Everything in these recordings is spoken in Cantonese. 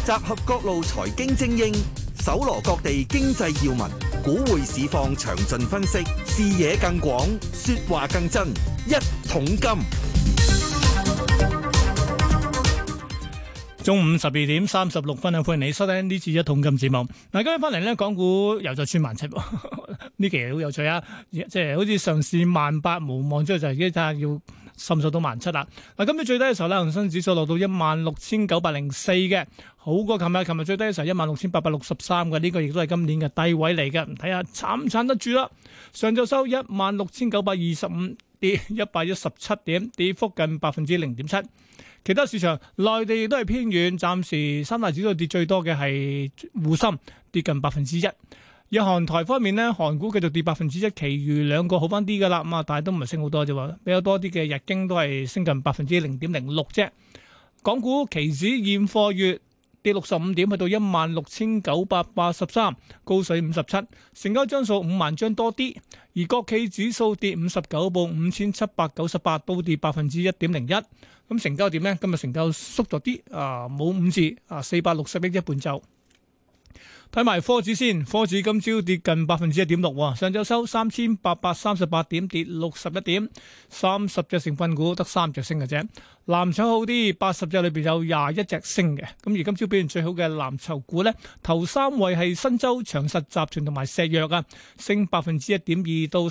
集合各路財經精英，搜羅各地經濟要聞，股匯市況詳盡分析，視野更廣，說話更真。一桶金， 中午12:36啊！歡迎你收聽呢次一桶金節目。嗱，今日翻嚟咧，港股又再穿1700，呢期好有趣啊！即係好似上市18,000無望之後，就已經睇下要滲數到17,000啦。嗱，今日最低嘅時候咧，恒生指數落到16,904嘅，好過琴日最低嘅時候16,863嘅，呢個亦都係今年嘅低位嚟嘅。睇下撐唔撐得住啦？上晝收16,925，跌117點，跌幅近0.7%。其他市場，內地亦都係偏軟，暫時三大指數跌最多嘅係滬深，跌近1%。日韓台方面咧，韓股繼續跌1%，其餘兩個好翻啲噶啦，咁啊，但係都唔係升好多啫喎，比較多啲嘅日經都係升近0.06%啫。港股期指現貨月跌65點，去到16,983，高水57，成交張數5萬張多啲。而國企指數跌59，報5,798，都跌1.01%。咁成交點呢？今日成交縮咗啲，冇5字，460億一半就。睇埋科指先，科指今朝跌近1.6%，上晝收3,838點，跌61點，30隻成分股得3隻升嘅啫。藍籌好啲，80隻裏邊有21隻升嘅。咁而今朝表現最好嘅藍籌股呢，頭3位係新洲、長實集團同埋石藥啊，升1.2%到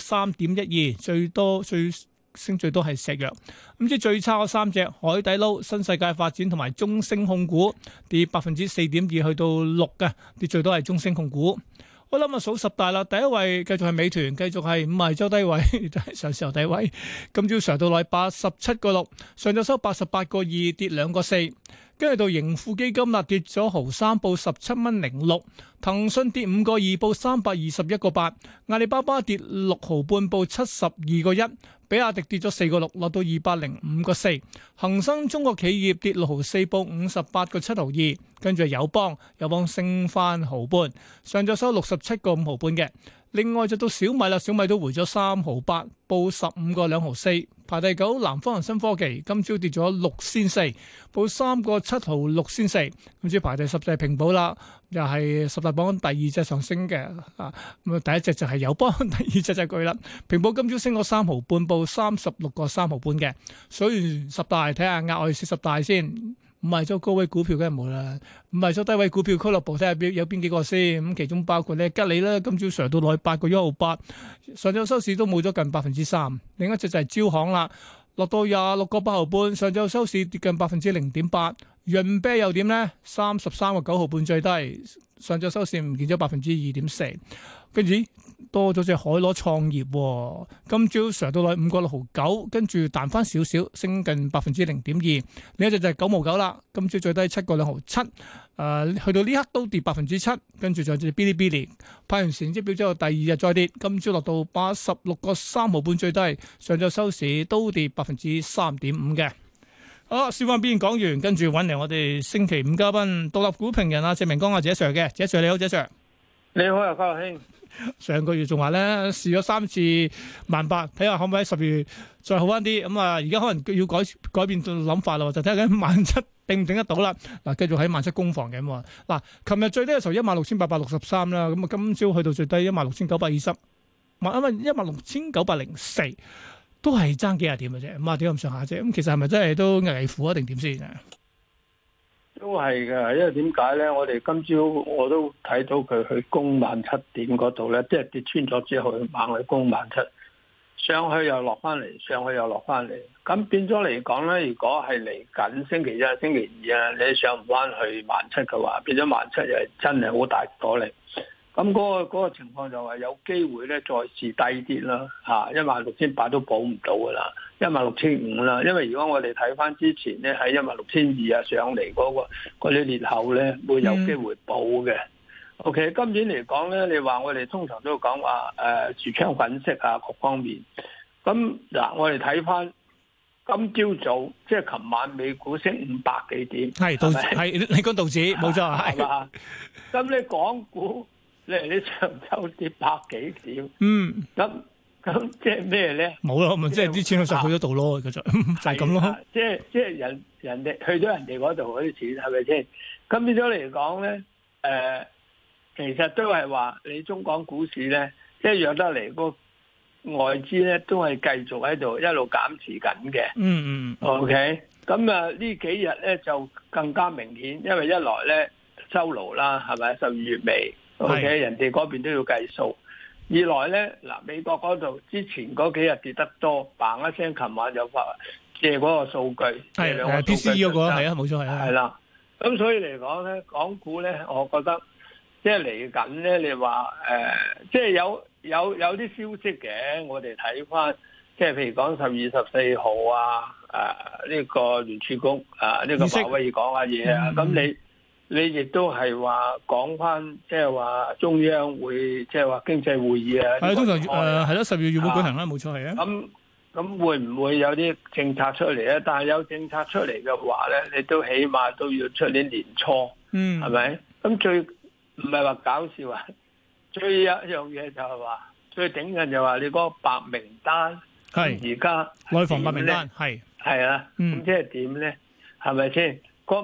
3.12%，升最多係石藥。咁即係最差嗰3隻，海底撈、新世界發展同埋中升控股跌4.2%去到6嘅，跌最多係中升控股。我諗啊，數十大啦，第一位繼續係美團，繼續係五十周低位，上市後低位。今朝上到來87.6，上晝收88.2，跌2個4。跟住到盈富基金啦，跌咗毫3，報17.06。騰訊跌5個2，報321.8。阿里巴巴跌6毫半，報72.1。比亞迪跌咗4個6，落到205.4。恒生中國企業跌6毫4，報58.7毫2。跟住友邦升翻毫半，上晝收67.5毫半嘅。另外就到小米啦，小米都回咗3毫8，報15.2毫4。排第9，南方恒生科技今朝跌咗6仙4，報3.7毫6仙4。咁至排第10就係平保啦，又係十大榜第2隻上升嘅啊。咁第一隻就係友邦，第2隻就係佢啦。平保今朝升咗3毫半，報36.3毫半嘅。數完10大，睇下額外40大先。唔係咗高位股票梗係冇啦，唔係咗低位股票俱樂部睇下有邊幾個先。咁其中包括咧吉利啦，今朝上到落去8.168，上晝收市都冇咗近3%。另一隻就係招行啦，落到26.8毫半，上晝收市跌近0.8%。潤啤又點咧？33.9毫半最低，上晝收市唔見咗2.4%。跟住多咗隻海螺創業，今朝上到去5.6毫9，跟住彈翻少少，升近0.2%。另一隻就係9毛9啦，今朝最低7.2毫7，去到呢刻都跌7%。跟住就隻嗶哩嗶哩派完成績表之後，第二日再跌，今朝落到86.3毫半最低，上晝收市都跌3.5%嘅。好，小翻邊講完，跟住揾嚟我哋星期5嘉賓，獨立股評人謝明光謝 Sir 嘅，謝 Sir 你好，謝 Sir。 你好啊，家樂兄。 上個月仲話咧試咗3次18,000，睇下可唔可以10月再好翻啲。咁啊，而家可能要改變諗法啦，就睇下緊17,000頂唔頂得到啦。嗱，繼續喺17,000攻防嘅嘛。嗱，琴日最低嘅時候16,863啦，咁啊今朝去到最低16,920，因為16,904都係爭幾廿點嘅啫，咁啊點咁上下啫。咁其實係咪真係都危乎啊？定點先？ 都係嘅，因為點解咧？我哋今朝我都睇到佢去攻17,000點嗰度咧，即係跌穿咗之後猛去攻17,000，上去又落翻嚟，上去又落翻嚟。咁變咗嚟講咧，如果係嚟緊星期一、星期二啊，你上唔翻去17,000嘅話，變咗17,000又真係好大阻力。咁嗰個情況就係有機會咧，再試低啲啦，嚇16,800都補唔到噶啦，16,500啦。因為如果我哋睇翻之前咧，喺16,200啊上嚟嗰啲裂口咧，會有機會補嘅。OK， 今年嚟講咧，你話我哋通常都講話櫥窗粉飾啊各方面。咁嗱，我哋睇翻今朝早，即係琴晚美股升500幾點， 係道指，係你講道指冇錯，係嘛？ 咁你港股？你上週跌100幾點？咁即係咩咧？ 冇咯，咪即係啲錢就去咗度咯，就係咁咯。 即係人哋去咗人哋嗰度嗰啲錢係咪先？ 咁變咗嚟講咧，其實都係話你中港股市咧一樣得嚟，個外資咧都係繼續喺度一路減持緊嘅。OK， 咁啊呢幾日咧就更加明顯，因為一來咧收爐啦，係咪12月尾 ？OK， 人哋嗰邊都要計數。二來咧嗱，美國嗰度之前嗰幾日跌得多，嘭一聲，琴晚就發借嗰個數據， 係PCE 嗰個係啊，冇錯係啊， 係啦。咁所以嚟講咧，港股咧，我覺得即係嚟緊咧，你話即係有啲消息嘅，我哋睇翻，即係譬如講12月14號啊，呢個聯儲局呢個鮑威爾講下嘢啊，咁你亦都係話講翻，即係話中央會即係話經濟會議啊， 係通常係咯，12月會舉行啦，冇錯係啊。 咁會唔會有啲政策出嚟咧？但係有政策出嚟嘅話咧，你都起碼都要出年年初，係咪？咁最唔係話搞笑啊！最有一樣嘢就係話，最頂緊就話你嗰個白名單，係而家內房白名單係啊，咁即係點咧？係咪先？嗰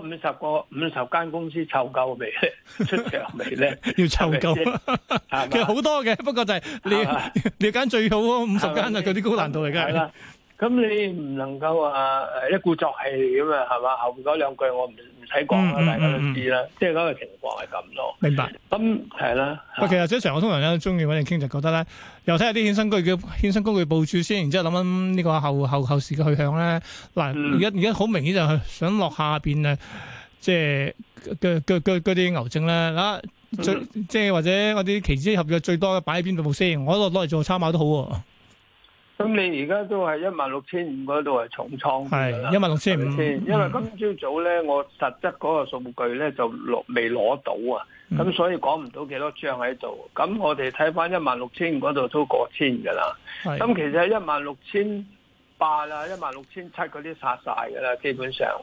50間公司湊夠未咧？出場未咧？ 要湊夠，其實好多嘅，不過就係你揀最好嗰50間啊，嗰啲高難度嚟㗎。係啦， 咁你唔能夠話一鼓作氣咁啊，係嘛？後邊嗰兩句我唔使講啦，大家都知啦。即係嗰個情況係咁咯。明白。咁係啦。 其實即係常我通常咧中意揾你傾，就覺得咧，又睇下啲衍生工具部署先，然之後諗諗呢個後市嘅去向咧。嗱，而家好明顯就係想落下邊啊，即係嗰啲牛證咧嗱，即係或者嗰啲期指合約最多擺喺邊度先？我攞嚟做參考都好喎。 咁你而家都係16,500嗰度係重倉， 係16,500 先。因為今朝早咧，我實質嗰個數據咧就未攞到啊，咁所以講唔到幾多張喺度。咁我哋睇翻16,500嗰度都過千㗎啦。咁其實16,800啦、16,700嗰啲殺晒㗎啦，基本上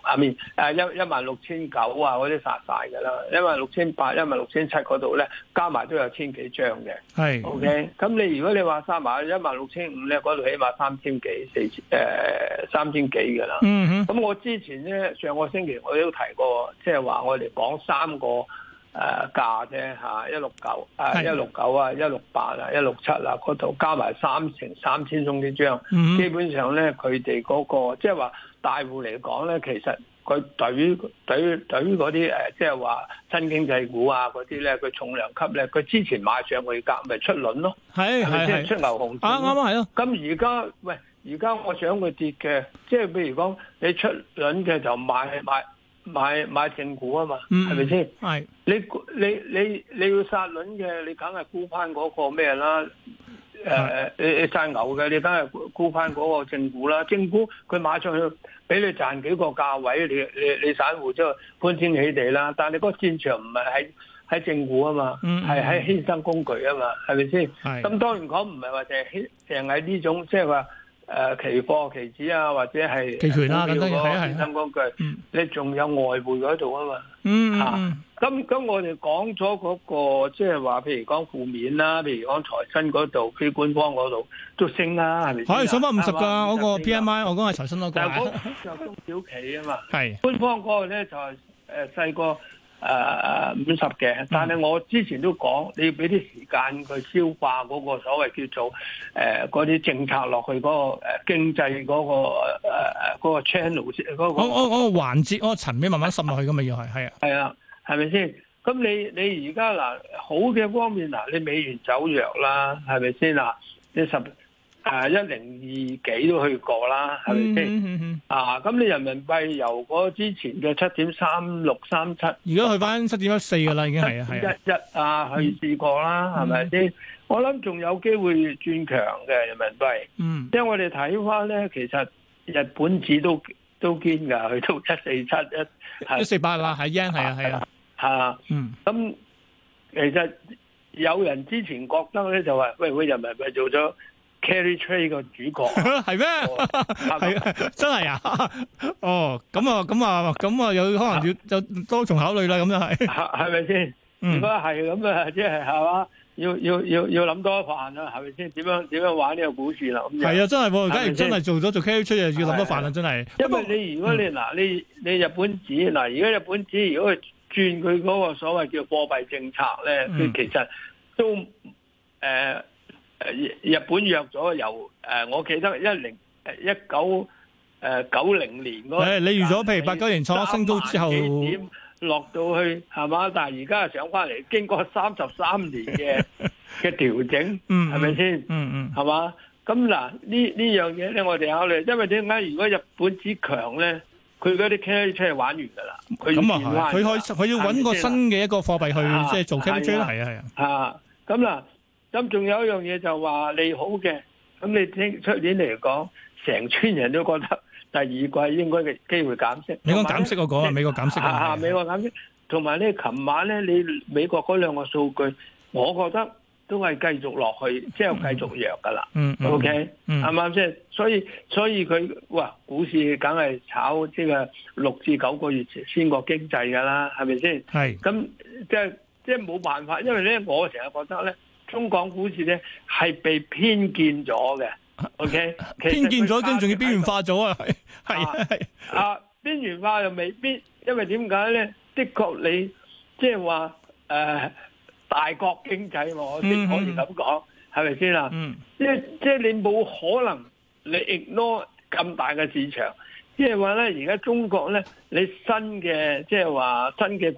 16,900啊嗰啲殺晒㗎啦。16,800、16,700嗰度咧加埋都有千幾張嘅。係 OK。咁如果你話加埋16,500咧，嗰度起碼3,000幾3,000幾㗎啦。咁我之前咧上個星期我都提過，即係話我哋講3個價啫嚇，169啊、169啊、168啊、167啊嗰度加埋3,000宗幾張，基本上咧佢哋嗰個即係話大戶嚟講咧，其實佢對於嗰啲即係話新經濟股啊嗰啲咧，佢重量級咧，佢之前買上去價咪出輪咯，係即係出牛熊證啱係咯。咁而家我想佢跌嘅，即係譬如講你出輪嘅就買正股啊嘛，係咪先？係你要殺輪嘅，你梗係沽翻嗰個咩啦？你殺牛嘅，你梗係沽翻嗰個正股啦。正股佢買上去俾你賺幾個價位，你散戶即係歡天喜地啦。但係你嗰個戰場唔係喺正股啊嘛，係喺衍生工具啊嘛，係咪先？咁當然講唔係話淨係呢種即係話。期貨、期指啊，或者係期權啦，等等係衍生工具，你仲有外匯嗰度啊嘛。咁我哋講咗嗰個，即係話，譬如講負面啦，譬如講財新嗰度、非官方嗰度都升啦，係咪？ 可以上翻50㗎，嗰個 PMI，我講係財新嗰個。 但係嗰就中小企啊嘛。係官方嗰個咧就係細個。50嘅，但係我之前都講，你要俾啲時間佢消化嗰個所謂叫做嗰啲政策落去嗰個經濟嗰個 channel 嗰個嗰個環節嗰個層面慢慢滲落去咁嘛，要係啊， 係咪先？咁你而家嗱好嘅方面嗱，你美元走弱啦，係咪先嗱？你102幾都去過啦，係咪先？咁你人民幣由嗰之前嘅7.3637， 而家去翻7.14噶啦，已經係去試過啦，係咪先？我諗仲有機會轉強嘅人民幣。即係我哋睇翻咧，其實日本紙都堅噶，去到147、148 啦，係 yen 係啊。 咁其實有人之前覺得咧，就話喂，人民幣做咗carry trade 個主角係咩？係真係啊！咁啊，有可能要多重考慮啦。咁就係咪先？如果係咁啊，即係嘛？要諗多一飯啦，係咪先？點樣玩呢個股市啦？ 係啊，真係，假如真係做 carry trade，又要諗多飯啦，真係。 因為如果你日本紙嗱，而家日本紙如果轉佢嗰個所謂叫貨幣政策咧，佢其實都日本約咗由我記得1990年嗰個， 你預咗譬如89年創新高之後落到去係嘛？但係而家上翻嚟，經過33年嘅調整，係咪先？係嘛？咁嗱呢樣嘢咧，我哋考慮，因為點解？如果日本之強咧，佢嗰啲 carry trade 玩完㗎啦。 咁啊係，佢要揾個新嘅一個貨幣去即係做 carry trade 啦，係啊係啊。 咁嗱，咁仲有一樣嘢就話利好嘅，咁你聽出年嚟講，成村人都覺得第二季應該嘅機會減息。 你講減息嗰個啊？美國減息啊？ 美國減息，同埋咧，琴晚咧，你美國嗰兩個數據，我覺得都係繼續落去，即係繼續弱㗎啦。OK，啱啱先？所以佢哇，股市梗係炒即係6至9個月先個經濟㗎啦，係咪先？係。咁即係冇辦法，因為咧，我成日覺得咧，中港股市咧係被偏見咗嘅。OK， 偏見咗，跟住仲要邊緣化咗啊！係邊緣化又未必，因為點解咧？的確你即係話大國經濟我先可以咁講，係咪先啦？即係你冇可能你 ignore 咁大嘅市場，即係話咧，而家中國咧，你新嘅即係話新嘅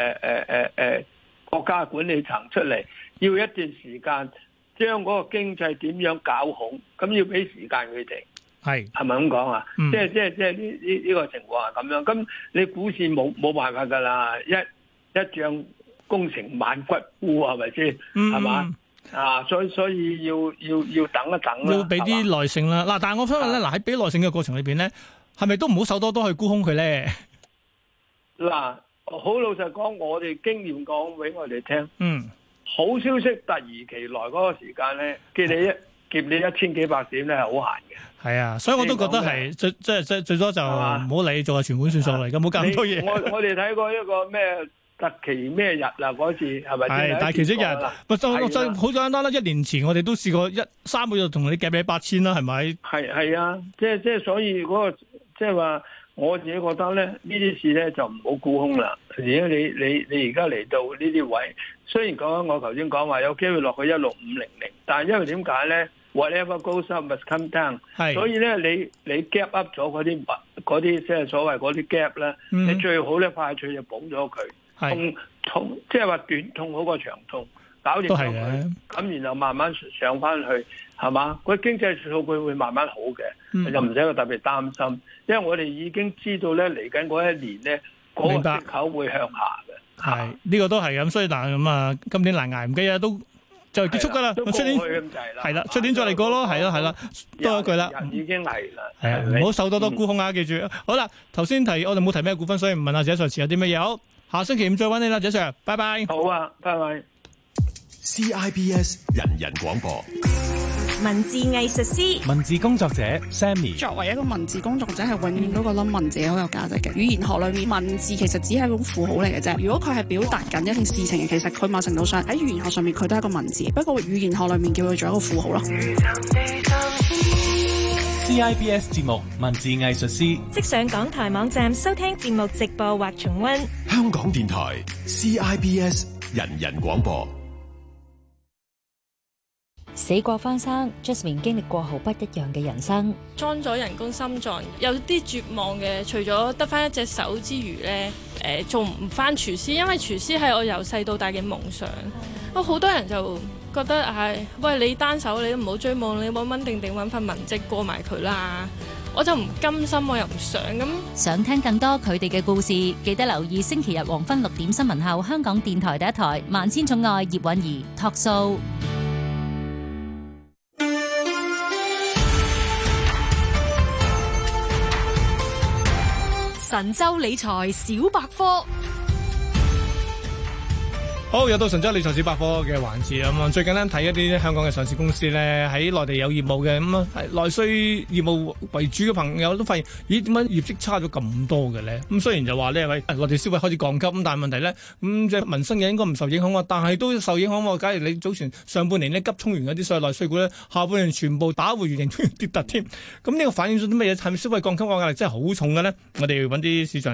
國家管理層出嚟，要一段時間將嗰個經濟點樣搞好，咁要俾時間佢哋。係咪咁講啊？即係呢個情況係咁樣。咁你股市冇辦法㗎啦，一將功成萬骨枯，係咪先？係嘛？所以要等一等啦， 要俾啲耐性啦。嗱，但係我想問咧，喺俾耐性嘅過程裏邊咧，係咪都唔好手多多去沽空佢咧？嗱， 好老實講，我哋經驗講俾我哋聽，好消息突如其來嗰個時間咧，劫你1000幾百點咧係好閒嘅。 係啊，所以我都覺得係最多就唔好理，做下存款算數嚟，咁冇咁多嘢。 我哋睇過一個咩特期咩日啊，嗰次係咪？ 係大期息日，好簡單啦。1年前我哋都試過3個月同你夾你8000啦，係咪？ 係啊，即係所以嗰個即係話，我自己覺得咧，呢啲事咧就唔好沽空啦。而家你而家嚟到呢啲位，雖然講我頭先講話有機會落去16500，但係因為點解咧？Whatever goes up must come down，所以咧你 gap up 咗嗰啲即係所謂嗰啲 gap 咧，你最好咧快脆就補咗佢，痛即係話短痛好過長痛，搞掂咗佢，咁然後慢慢上翻去，係嘛？嗰經濟數據會慢慢好嘅，就唔使特別擔心，因為我哋已經知道咧嚟緊嗰一年咧嗰個息口會向下嘅。 係呢個都係咁，所以咁啊，今年難捱唔計啊都。就結束噶啦，出年係啦，出年再嚟過咯，係啦，多一句啦， 已經係啦， 係啊，唔好受多多沽空啊，記住。好啦，頭先提我哋冇提咩股份，所以唔問阿謝 Sir 持有啲乜嘢。好，下星期五再揾你啦，謝 Sir，拜拜。 好啊，拜拜。 CIBS 人人廣播。 文字藝術師、 文字工作者 Sammy， 作為一個文字工作者，係永遠都覺得文字好有價值嘅。語言學裏面，文字其實只係一種符號嚟嘅啫。如果佢係表達緊一件事情，其實佢某程度上喺語言學上面佢都係一個文字，不過語言學裏面叫佢做一個符號咯。 CIBS 節目文字藝術師， 即上港台網站收聽節目直播或重溫。 香港電台 CIBS 人人廣播。 死過翻生 ，Jasmine 經歷過毫不一樣嘅人生。 裝咗人工心臟，有啲絕望嘅。除咗得翻一隻手之餘呢，做唔翻廚師，因為廚師係我由細到大嘅夢想。好多人就覺得喂，你單手你都唔好追夢，你穩穩定定揾份文職過埋佢啦。我就唔甘心，我又唔想咁。 想聽更多佢哋嘅故事，記得留意星期日黃昏6點新聞後，香港電台第一台《萬千寵愛葉韻儀》Talk Show。 神州理財小百科。 好，又到神州理財小百科嘅環節咁啊！最近咧睇一啲香港嘅上市公司咧喺內地有業務嘅咁啊，內需業務為主嘅朋友都發現，咦，點解業績差咗咁多嘅咧？咁雖然就話呢，內地消費開始降級，咁但係問題咧，即係民生嘅應該唔受影響啊，但係都受影響喎。假如你早前上半年咧急衝完嗰啲所謂內需股咧，下半年全部打回原形，跌突添。咁呢個反映咗啲乜嘢？係咪消費降級嘅壓力真係好重嘅咧？我哋揾啲市場